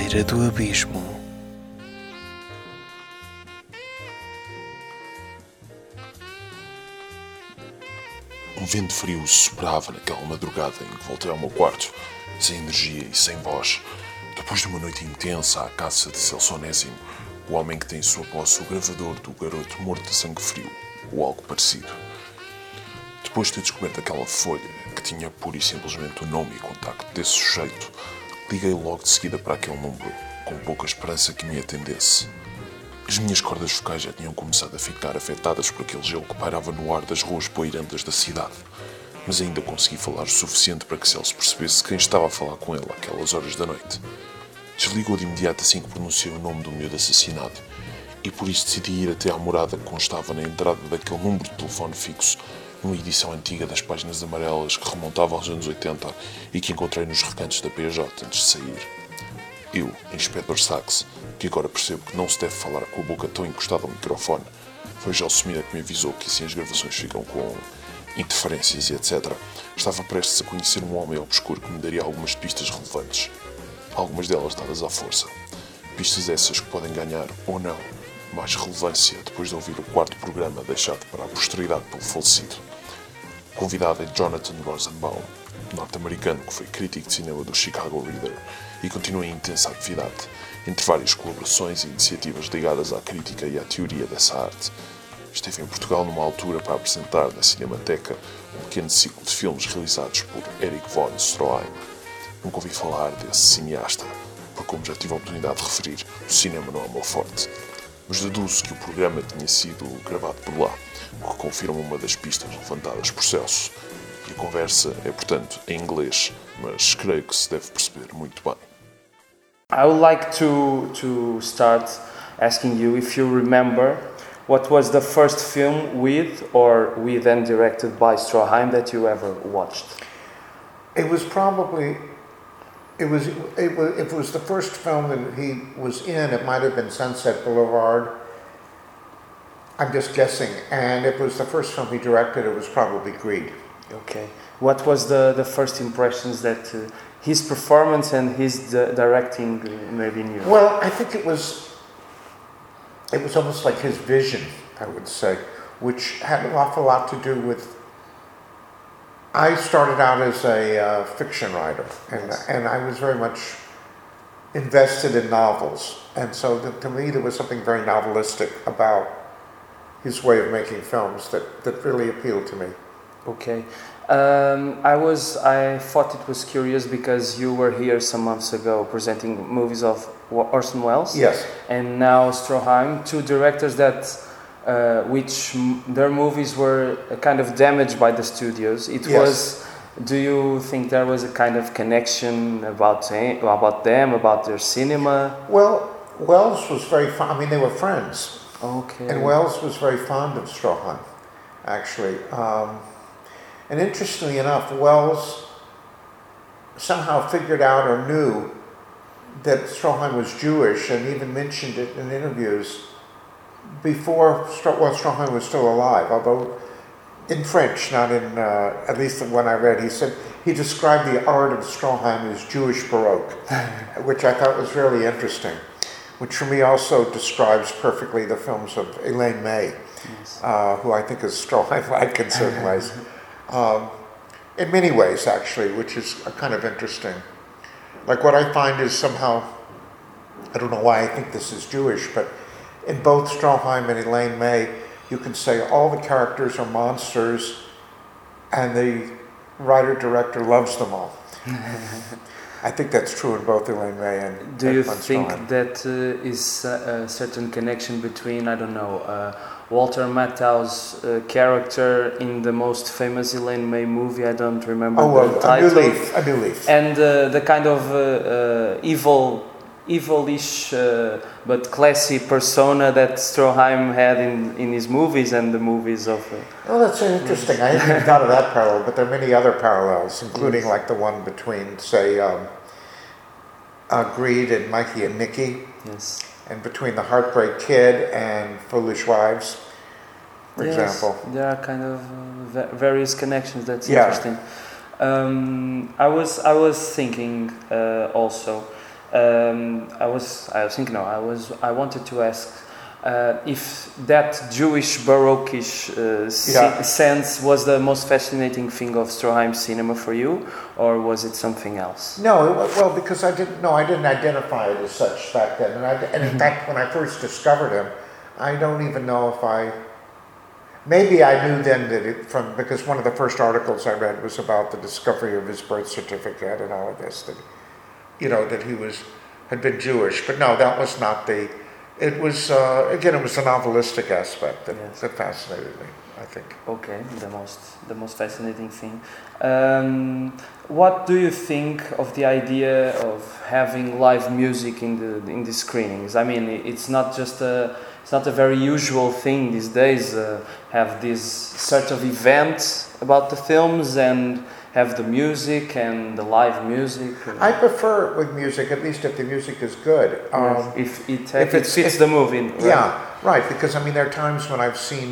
beira do abismo. Um vento frio soprava naquela madrugada em que voltei ao meu quarto, sem energia e sem voz. Depois de uma noite intensa à caça de Celso Onésimo, o homem que tem em sua posse o gravador do garoto morto de sangue frio, ou algo parecido. Depois de ter descoberto aquela folha, que tinha pura e simplesmente o nome e contacto desse sujeito, liguei logo de seguida para aquele número, com pouca esperança que me atendesse. As minhas cordas vocais já tinham começado a ficar afetadas por aquele gelo que pairava no ar das ruas poeirantas da cidade, mas ainda consegui falar o suficiente para que Celso percebesse quem estava a falar com ele àquelas horas da noite. Desligou de imediato assim que pronunciei o nome do miúdo assassinado, e por isso decidi ir até à morada que constava na entrada daquele número de telefone fixo, numa edição antiga das páginas amarelas que remontava aos anos 80 e que encontrei nos recantos da PJ antes de sair. Eu, Inspetor Sachs, que agora percebo que não se deve falar com a boca tão encostada ao microfone, foi Gelsomina que me avisou que assim as gravações ficam com interferências e etc. Estava prestes a conhecer um homem obscuro que me daria algumas pistas relevantes. Algumas delas dadas à força. Pistas essas que podem ganhar, ou não, mais relevância depois de ouvir o quarto programa deixado para a posteridade pelo falecido. O convidado é Jonathan Rosenbaum, norte-americano que foi crítico de cinema do Chicago Reader e continua em intensa atividade, entre várias colaborações e iniciativas ligadas à crítica e à teoria dessa arte. Esteve em Portugal numa altura para apresentar na Cinemateca um pequeno ciclo de filmes realizados por Erich von Stroheim. Nunca ouvi falar desse cineasta, porque como já tive a oportunidade de referir, o cinema não é o meu forte. Mas deduzo que o programa tinha sido gravado por lá, o que confirma uma das pistas levantadas por Celso. E a conversa é, portanto, em inglês, mas creio que se deve perceber muito bem. I would like to start asking you if you remember what was the first film with and directed by Stroheim that you ever watched. It was probably, it was if it was the first film that he was in, it might have been Sunset Boulevard. I'm just guessing. And if it was the first film he directed, it was probably Greed. Okay. What was the first impressions that his performance and his directing maybe knew? Well, I think it was almost like his vision, I would say, which had an awful lot to do with. I started out as a fiction writer, and I was very much invested in novels, and so to me there was something very novelistic about his way of making films that really appealed to me. Okay. I thought it was curious because you were here some months ago presenting movies of Orson Welles. Yes. And now Stroheim, two directors that their movies were kind of damaged by the studios. Yes. Do you think there was a kind of connection about them, about their cinema? Well, Welles was very fond. I mean, they were friends. Okay. And Welles was very fond of Stroheim, actually. And interestingly enough, Welles somehow figured out or knew that Stroheim was Jewish and even mentioned it in interviews before Stroheim was still alive, although in French, not in, at least the one I read, he said he described the art of Stroheim as Jewish Baroque, which I thought was really interesting, which for me also describes perfectly the films of Elaine May, yes. Who I think is Stroheim-like in certain ways. In many ways, actually, which is kind of interesting. Like what I find is somehow, I don't know why I think this is Jewish, but in both Stroheim and Elaine May, you can say all the characters are monsters and the writer-director loves them all. I think that's true in both Elaine May and Do you Von think Stroheim. that is a certain connection between, I don't know, Walter Matthau's character in the most famous Elaine May movie, I don't remember the title. A New Leaf. And the kind of evilish but classy persona that Stroheim had in his movies and the movies of... Oh, that's interesting. I hadn't even thought of that parallel, but there are many other parallels, including like the one between, say, Greed and Mikey and Nicky. Yes. And between the Heartbreak Kid and Foolish Wives, for example. There are kind of various connections. That's Yeah. interesting. I was thinking also I wanted to ask if that Jewish Barockish sense was the most fascinating thing of Stroheim cinema for you, or was it something else? No, well, because I didn't identify it as such back then, and in fact, when I first discovered him, I don't even know if maybe I knew then that because one of the first articles I read was about the discovery of his birth certificate and all of this, that that he had been Jewish, but no, that was not the. It was again, it was the novelistic aspect that fascinated me, I think. Okay, the most fascinating thing. What do you think of the idea of having live music in the screenings? I mean, it's not a very usual thing these days. Have this sort of event about the films and have the music and the live music. I prefer it with music, at least if the music is good. If it fits the movie. Right? Yeah, right. Because I mean, there are times when I've seen,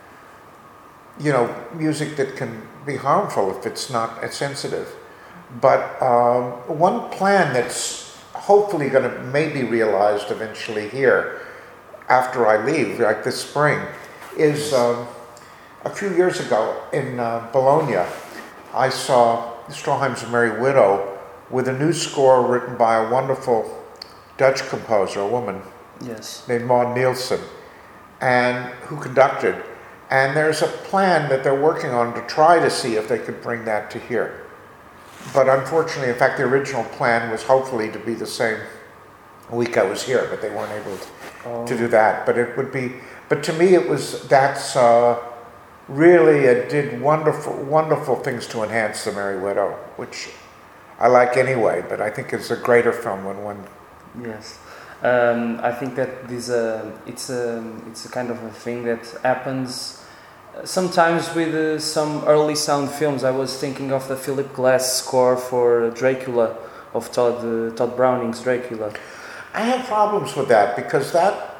music that can be harmful if it's not as sensitive. But one plan that's hopefully going to maybe realized eventually here, after I leave, like this spring, is a few years ago in Bologna. I saw Stroheim's Merry Widow with a new score written by a wonderful Dutch composer, a woman named Maud Nielsen, and who conducted. And there's a plan that they're working on to try to see if they could bring that to here. But unfortunately, in fact, the original plan was hopefully to be the same week I was here, but they weren't able to do that. But to me, that's really, it did wonderful things to enhance The Merry Widow, which I like anyway, but I think it's a greater film when one... Yes. I think that it's a kind of a thing that happens sometimes with some early sound films. I was thinking of the Philip Glass score for Dracula, of Todd Browning's Dracula. I have problems with that because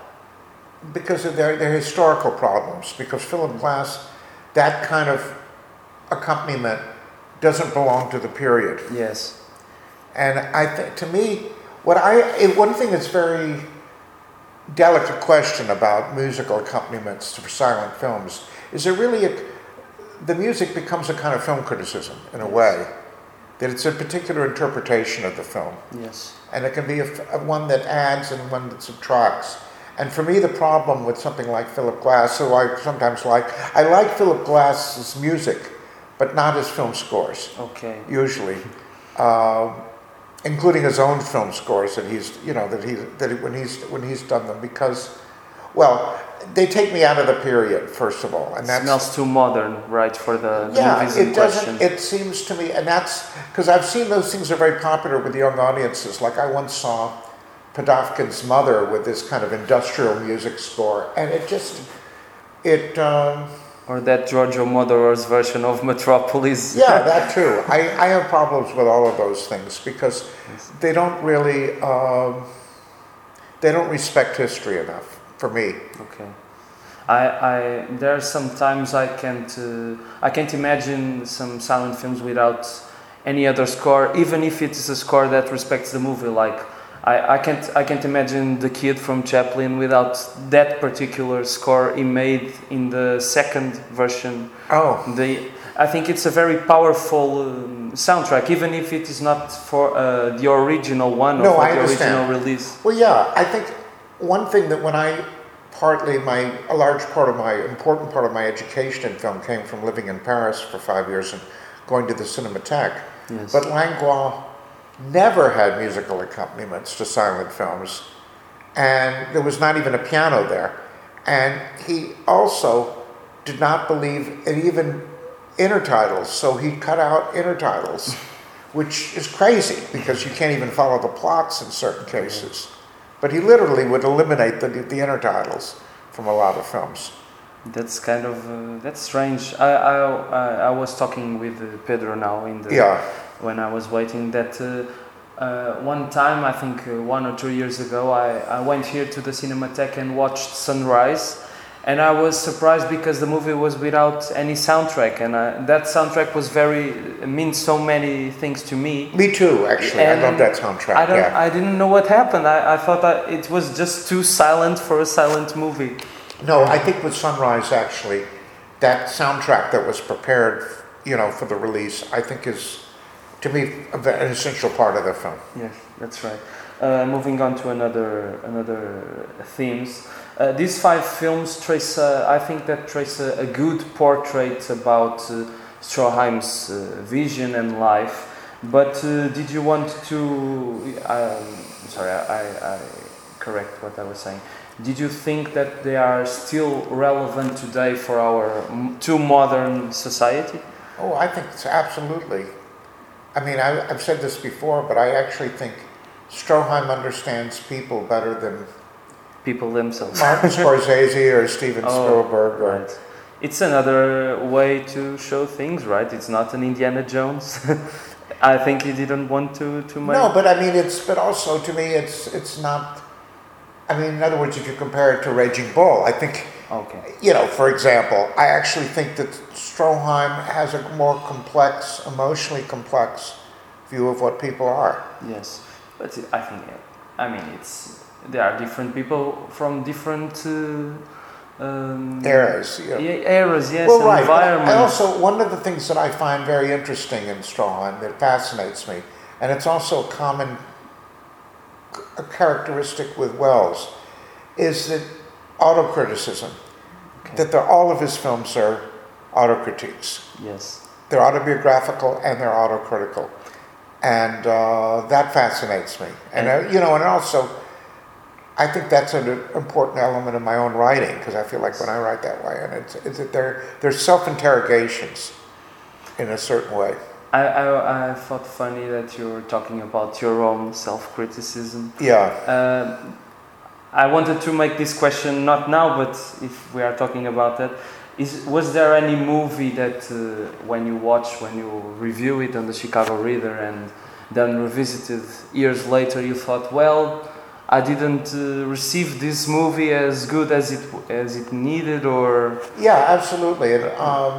of their historical problems, because Philip Glass, that kind of accompaniment doesn't belong to the period. Yes. And I think, to me, one thing that's very delicate question about musical accompaniments for silent films is the music becomes a kind of film criticism in a way, that it's a particular interpretation of the film. Yes. And it can be one that adds and one that subtracts. And for me, the problem with something like Philip Glass, who I sometimes I like Philip Glass's music, but not his film scores. Okay. Usually, including his own film scores that when he's done them, because, well, they take me out of the period, first of all, and that smells too modern, right, for the movies in question. It seems to me, and that's because I've seen those things are very popular with young audiences. Like I once saw Podofkin's Mother with this kind of industrial music score, and or that Giorgio Moroder's version of Metropolis. Yeah, that too. I have problems with all of those things because they don't really they don't respect history enough for me. Okay. There are some times I can't imagine some silent films without any other score, even if it is a score that respects the movie. Like I can't imagine The Kid from Chaplin without that particular score he made in the second version. I think it's a very powerful soundtrack, even if it is not for the original one or for the original release. Well, yeah, I think one thing that important part of my education in film came from living in Paris for 5 years and going to the Cinematheque. Yes. But Langlois never had musical accompaniments to silent films, and there was not even a piano there. And he also did not believe in even intertitles, so he cut out intertitles, which is crazy because you can't even follow the plots in certain cases. But he literally would eliminate the intertitles from a lot of films. That's kind of that's strange. I was talking with Pedro now when I was waiting that one time, I think 1 or 2 years ago, I went here to the Cinematheque and watched Sunrise, And I was surprised because the movie was without any soundtrack, and that soundtrack was means so many things to me. Me too, actually. And I love that soundtrack. I didn't know what happened. I thought that it was just too silent for a silent movie. No, I think with Sunrise, actually, that soundtrack that was prepared, for the release, I think is, to me, an essential part of the film. Yes, that's right. Moving on to another themes. These 5 films trace, I think, trace a good portrait about Stroheim's vision and life. But did you want to? Sorry, I correct what I was saying. Did you think that they are still relevant today for our too modern society? Oh, I think it's absolutely. I mean, I've said this before, but I actually think Stroheim understands people better than people themselves. Martin Scorsese or Steven Spielberg. Right. It's another way to show things, right? It's not an Indiana Jones. I think he didn't want to make... No, but I mean, but also to me, it's not... I mean, in other words, if you compare it to Raging Bull, I think, for example, I actually think that Stroheim has a more complex, emotionally complex view of what people are. Yes, but I think, there are different people from different eras. Eras, yes, well, right. environments. I also, one of the things that I find very interesting in Stroheim that fascinates me, and it's also a characteristic with Wells, is that autocriticism. That all of his films are autocritiques. Yes. They're autobiographical and they're autocritical. And that fascinates me. And, and also, I think that's an important element of my own writing, because I feel like when I write that way, and it's that they're self-interrogations in a certain way. I thought funny that you were talking about your own self-criticism. Yeah. I wanted to make this question not now, but if we are talking about that, was there any movie that when you review it on the Chicago Reader and then revisited years later, you thought, well, I didn't receive this movie as good as it needed, or... Yeah, absolutely. It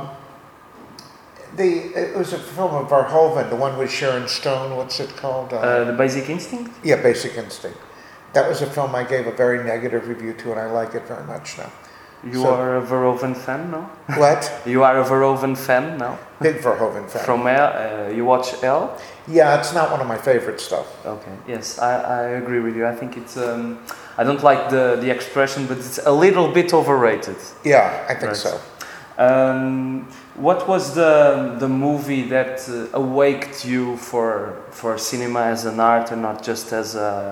was a film of Verhoeven, the one with Sharon Stone. What's it called? The Basic Instinct? Yeah, Basic Instinct. That was a film I gave a very negative review to, and I like it very much now. You are a Verhoeven fan now? What? You are a Verhoeven fan now? Big Verhoeven fan. From you watch Elle? Yeah, it's not one of my favorite stuff. Okay, yes, I agree with you. I think it's, I don't like the expression, but it's a little bit overrated. Yeah, I think so. What was the movie that awakened you for cinema as an art and not just as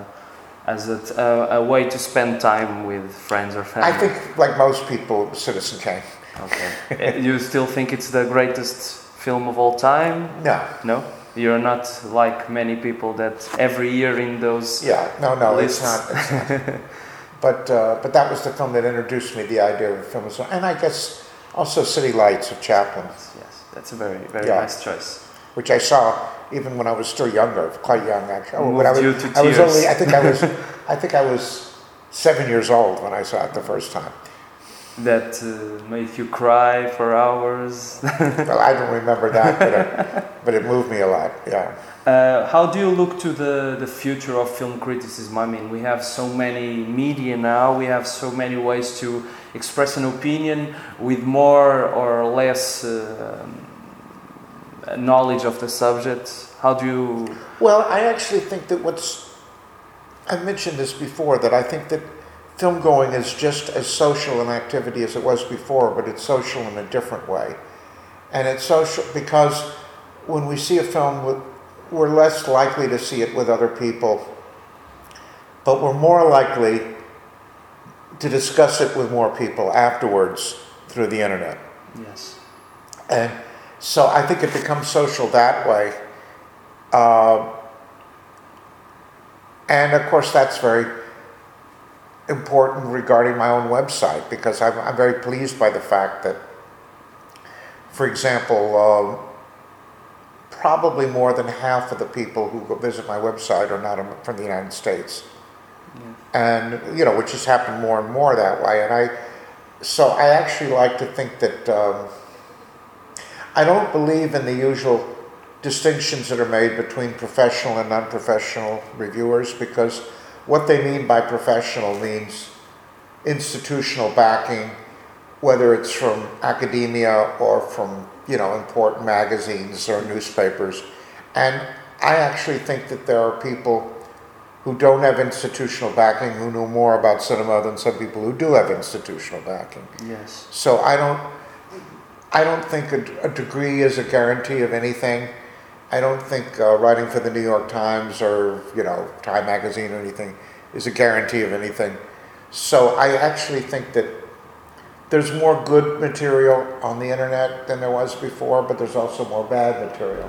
a way to spend time with friends or family? I think, like most people, Citizen Kane. Okay. You still think it's the greatest film of all time? No. No? You're not like many people that every year in those lists. It's not. But that was the film that introduced me to the idea of a film. And I guess also City Lights of Chaplin. Yes, that's a very, very nice choice. Which I saw even when I was still younger, quite young actually. I think I was 7 years old when I saw it the first time. That made you cry for hours? Well, I don't remember that, but it moved me a lot, yeah. How do you look to the future of film criticism? I mean, we have so many media now, we have so many ways to express an opinion with more or less knowledge of the subject. How do you... Well, I actually think that I've mentioned this before, that I think that film going is just as social an activity as it was before, but it's social in a different way. And it's social because when we see a film, we're less likely to see it with other people, but we're more likely to discuss it with more people afterwards through the internet. Yes. And so I think it becomes social that way. And of course that's very important regarding my own website, because I'm very pleased by the fact that, for example, probably more than half of the people who go visit my website are not from the United States. Yeah. And, which has happened more and more that way. And so I actually like to think that I don't believe in the usual distinctions that are made between professional and non-professional reviewers, because what they mean by professional means institutional backing, whether it's from academia or from, you know, important magazines or newspapers. And I actually think that there are people who don't have institutional backing who know more about cinema than some people who do have institutional backing. Yes. So I don't think a degree is a guarantee of anything. I don't think writing for the New York Times or, you know, Time Magazine or anything is a guarantee of anything. So I actually think that there's more good material on the internet than there was before, but there's also more bad material.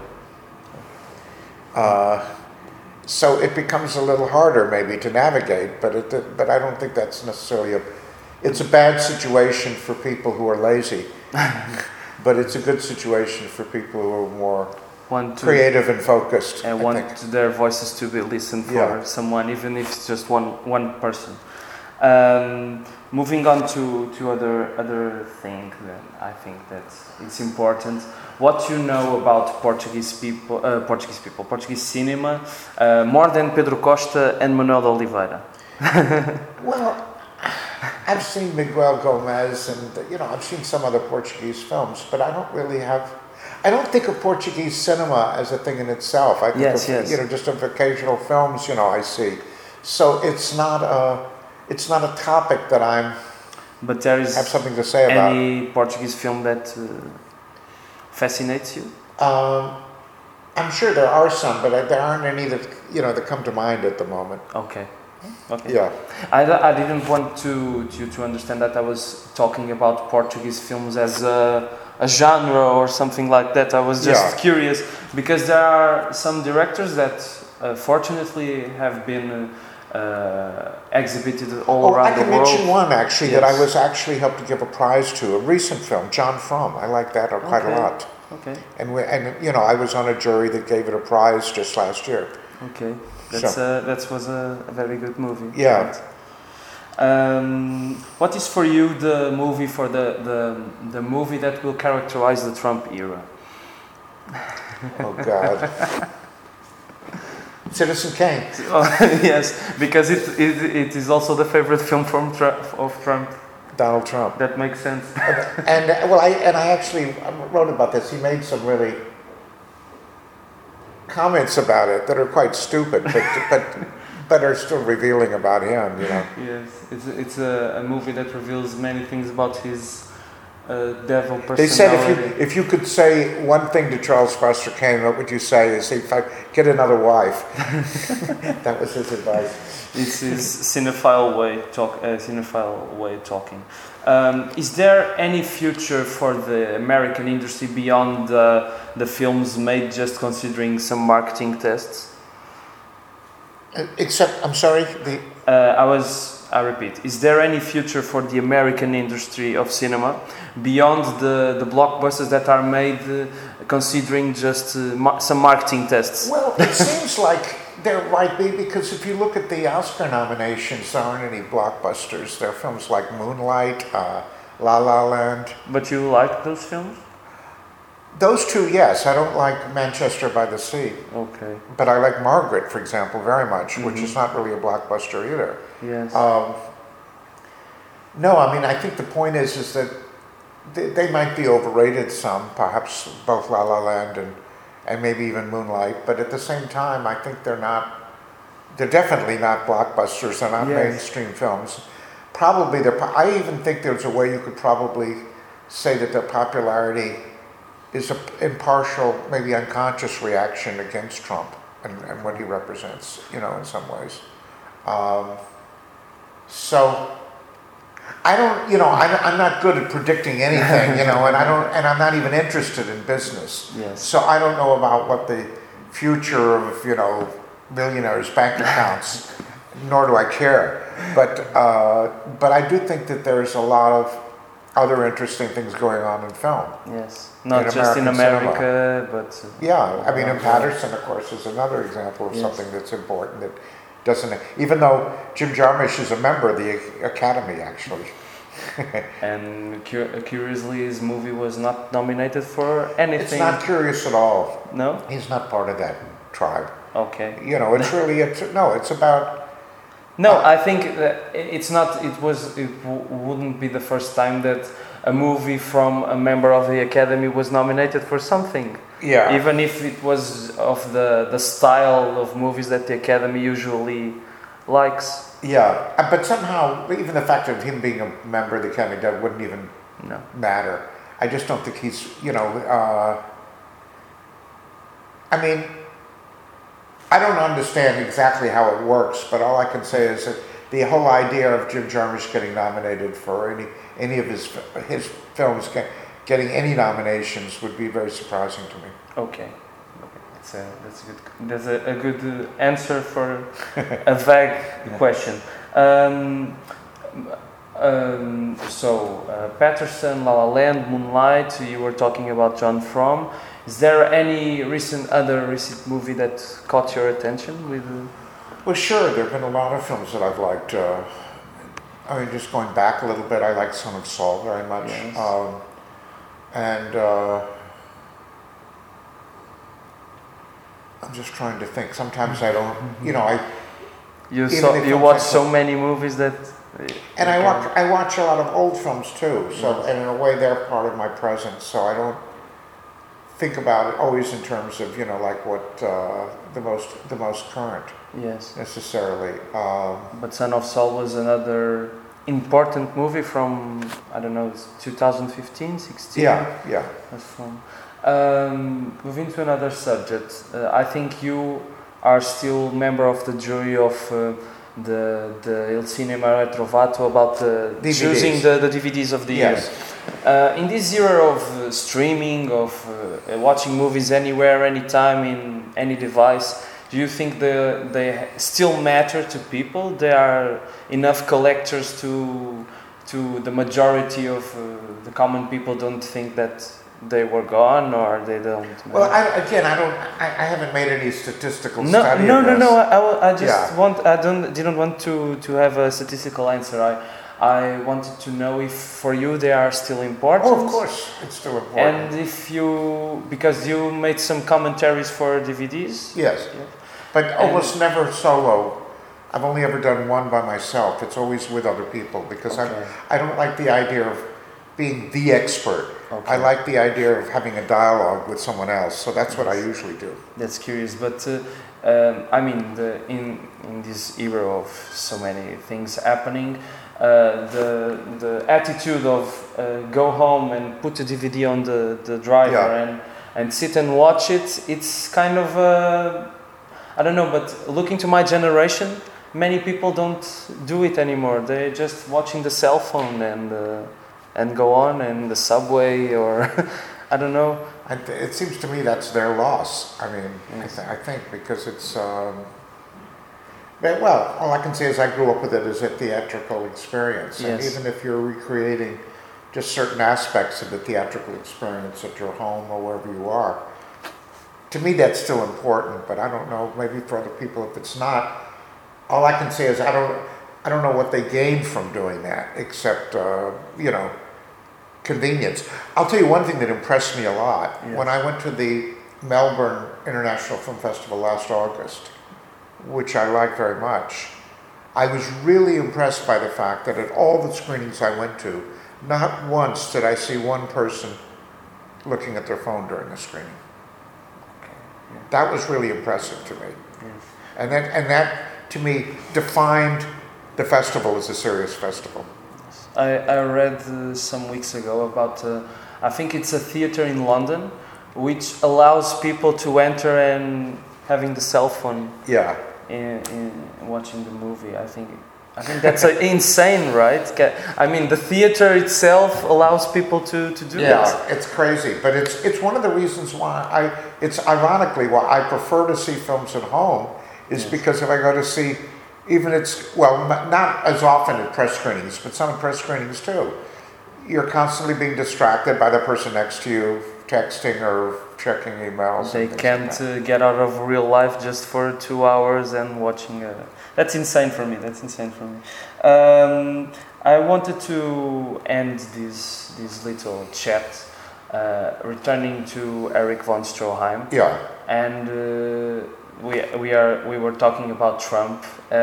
So it becomes a little harder maybe to navigate, but I don't think that's necessarily it's a bad situation for people who are lazy, but it's a good situation for people who are more creative and focused. And want their voices to be listened for someone, even if it's just one person. Moving on to other thing, then I think that it's important. What you know about Portuguese cinema, more than Pedro Costa and Manuel de Oliveira? Well, I've seen Miguel Gomez, and you know, I've seen some other Portuguese films, but I don't think of Portuguese cinema as a thing in itself. I think of, you know, just of occasional films, you know, I see. So it's not a topic that But there is have something to say about. Any Portuguese film that fascinates you? I'm sure there are some, but there aren't any that, you know, that come to mind at the moment. Okay. Yeah. I didn't want you to understand that I was talking about Portuguese films as a genre or something like that. I was just curious, because there are some directors that fortunately have been exhibited all around the world. I can mention one actually that I was actually helped to give a prize to, a recent film, John Frum. I like that quite a lot. Okay. And you know, I was on a jury that gave it a prize just last year. Okay. That was a very good movie. Yeah. Right? What is for you the movie the movie that will characterize the Trump era? Oh God. Citizen Kane. Yes, because it is also the favorite film of Trump. Donald Trump. That makes sense. And I actually wrote about this. He made some really comments about it that are quite stupid, but are still revealing about him, you know. Yes, it's a movie that reveals many things about his devil personality. They said if you could say one thing to Charles Foster Kane, what would you say? Is if I get another wife. That was his advice. It's his cinephile way of talking. Is there any future for the American industry beyond the films made just considering some marketing tests? Except, I'm sorry, I repeat, is there any future for the American industry of cinema beyond the blockbusters that are made considering just some marketing tests? Well, it seems like there might be, because if you look at the Oscar nominations, there aren't any blockbusters. There are films like Moonlight, La La Land. But you like those films? Those two, yes. I don't like Manchester by the Sea. Okay. But I like Margaret, for example, very much, which is not really a blockbuster either. Yes. No, I mean, I think the point is that they might be overrated some, perhaps both La La Land and maybe even Moonlight, but at the same time, I think they're definitely not blockbusters, they're not mainstream films. Probably, I even think there's a way you could probably say that their popularity is an impartial, maybe unconscious reaction against Trump and what he represents, you know, in some ways. So I don't, you know, I'm not good at predicting anything, you know, and I'm not even interested in business. Yes. So I don't know about what the future of, you know, millionaires' bank accounts, nor do I care. But I do think that there's a lot of other interesting things going on in film. Yes, not just in America, but I mean, in Patterson, of course, is another example of something that's important that doesn't. Even though Jim Jarmusch is a member of the Academy, actually. And curiously, his movie was not nominated for anything. It's not curious at all. No? He's not part of that tribe. Okay. You know, it's really, it's about... No, I think that it's not. Wouldn't be the first time that a movie from a member of the Academy was nominated for something. Yeah. Even if it was of the style of movies that the Academy usually likes. Yeah, but somehow, even the fact of him being a member of the Academy, that wouldn't even matter. I just don't think he's, I mean, I don't understand exactly how it works, but all I can say is that the whole idea of Jim Jarmusch getting nominated for any of his films getting any nominations would be very surprising to me. Okay. That's a good answer for a vague question. Patterson, La La Land, Moonlight. You were talking about John Fromm. Is there any other recent movie that caught your attention? Well, sure. There have been a lot of films that I've liked. I mean, just going back a little bit, I like Son of Saul very much. Yes. I'm just trying to think. Sometimes I don't, You watch so many movies that. And I watch a lot of old films too. So and in a way, they're part of my presence. So I don't think about it always in terms of like what the most current. Yes. Necessarily. But Son of Saul was another important movie from 2015, 16. Yeah. That's from. Moving to another subject, I think you are still member of the jury of the Il Cinema Retrovato about choosing the DVDs of the year. In this era of streaming, of watching movies anywhere, anytime, in any device, do you think they still matter to people? There are enough collectors to the majority of the common people don't think that they were gone, or they don't. Well, I haven't made any statistical study. No. Of this. I didn't want to have a statistical answer. I wanted to know if for you they are still important. Oh, of course, it's still important. And because you made some commentaries for DVDs. Yes. But almost never solo. I've only ever done one by myself. It's always with other people because I don't like the idea of being the expert. Okay. I like the idea of having a dialogue with someone else, so that's what I usually do. That's curious, but in this era of so many things happening, the attitude of go home and put the DVD on the driver and sit and watch it, it's kind of I don't know, but looking to my generation, many people don't do it anymore. They're just watching the cell phone and go on in the subway or I don't know. It seems to me that's their loss. I mean, yes. I think because it's well, all I can say is I grew up with it as a theatrical experience, and even if you're recreating just certain aspects of the theatrical experience at your home or wherever you are, to me that's still important. But I don't know, maybe for other people if it's not. All I can say is I don't know what they gain from doing that, except convenience. I'll tell you one thing that impressed me a lot. Yes. When I went to the Melbourne International Film Festival last August, which I liked very much, I was really impressed by the fact that at all the screenings I went to, not once did I see one person looking at their phone during the screening. Okay. Yeah. That was really impressive to me. Yes. And that to me defined the festival as a serious festival. I read some weeks ago about, I think it's a theater in London, which allows people to enter and having the cell phone in watching the movie. I think that's insane, right? I mean, the theater itself allows people to do that. Yeah, it's crazy. But it's one of the reasons why it's ironically why I prefer to see films at home is because if I go to see, even not as often at press screenings, but some press screenings too, you're constantly being distracted by the person next to you, texting or checking emails. They can't get out of real life just for 2 hours and watching. That's insane for me. I wanted to end this little chat returning to Erich von Stroheim. Yeah. And we were talking about Trump.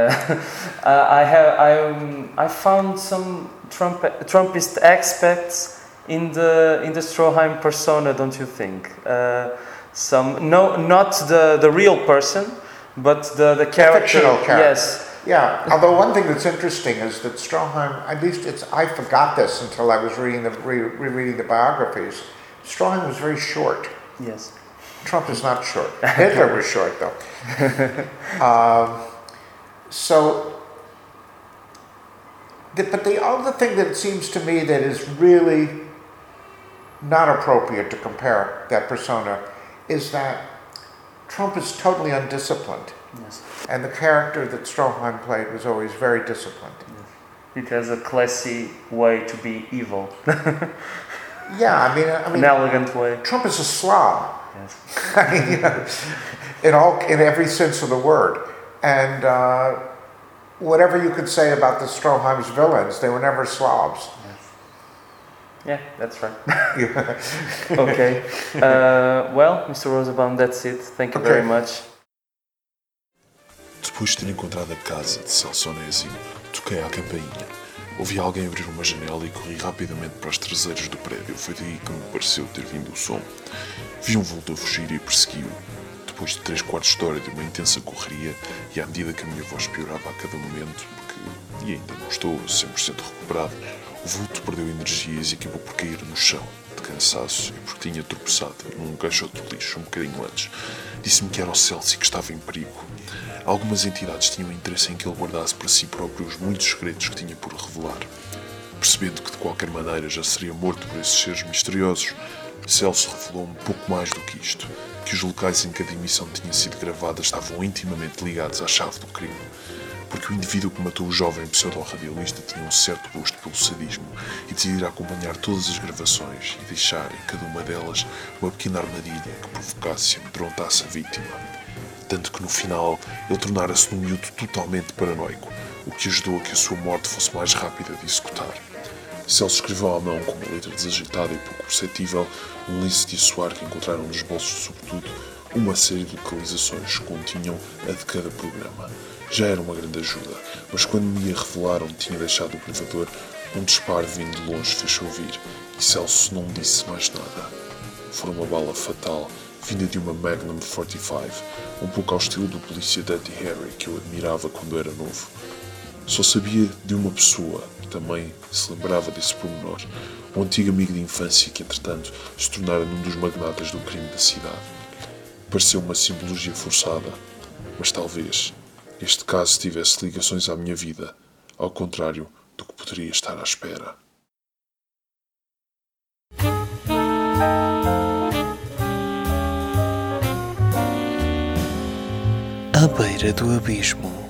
I found some Trumpist aspects in the Stroheim persona, don't you think? Not the real person, but the character. Fictional character. Yes. Yeah. Although one thing that's interesting is that Stroheim, at least I forgot this until I was rereading the biographies. Stroheim was very short. Yes. Trump is not short. Hitler was short, though. But the other thing that it seems to me that is really not appropriate to compare that persona is that Trump is totally undisciplined. Yes. And the character that Stroheim played was always very disciplined. It has a classy way to be evil. Yeah, I mean, an elegant way. Trump is a slob. Yes. I mean, in every sense of the word. And whatever you could say about the Stroheim's villains, they were never slobs. Yes. Yeah, that's right. Yeah. Okay. Well, Mr. Rosenbaum, that's it. Thank you very much. Depois de ter encontrado a casa de Celso Onésimo, toquei à campainha. Ouvi alguém abrir uma janela e corri rapidamente para os traseiros do prédio. Foi daí que me pareceu ter vindo o som. Vi um vulto a fugir e persegui-o. Depois de 3/4 de hora de uma intensa correria, e à medida que a minha voz piorava a cada momento, porque ainda não estou 100% recuperado, o vulto perdeu energias e acabou por cair no chão, de cansaço, e porque tinha tropeçado num caixote de lixo um bocadinho antes. Disse-me que era o Celso e que estava em perigo. Algumas entidades tinham interesse em que ele guardasse para si próprio os muitos segredos que tinha por revelar. Percebendo que de qualquer maneira já seria morto por esses seres misteriosos, Celso revelou um pouco mais do que isto, que os locais em que a emissão tinha sido gravada estavam intimamente ligados à chave do crime, porque o indivíduo que matou o jovem pseudo-radialista tinha um certo gosto pelo sadismo e decidira acompanhar todas as gravações e deixar em cada uma delas uma pequena armadilha que provocasse e amedrontasse a vítima. Tanto que no final ele tornara-se num miúdo totalmente paranoico, o que ajudou a que a sua morte fosse mais rápida de executar. Celso escreveu à mão, com uma letra desagitada e pouco perceptível, um lince de assoar que encontraram nos bolsos, sobretudo, uma série de localizações que continham a de cada programa. Já era uma grande ajuda, mas quando me a revelaram tinha deixado o gravador, um disparo vindo de longe fez ouvir, e Celso não disse mais nada. Foi uma bala fatal, vinda de uma Magnum 45, um pouco ao estilo do polícia Dirty Harry que eu admirava quando era novo. Só sabia de uma pessoa que também se lembrava desse pormenor, um antigo amigo de infância que, entretanto, se tornara num dos magnatas do crime da cidade. Pareceu uma simbologia forçada, mas talvez este caso tivesse ligações à minha vida, ao contrário do que poderia estar à espera. À beira do abismo.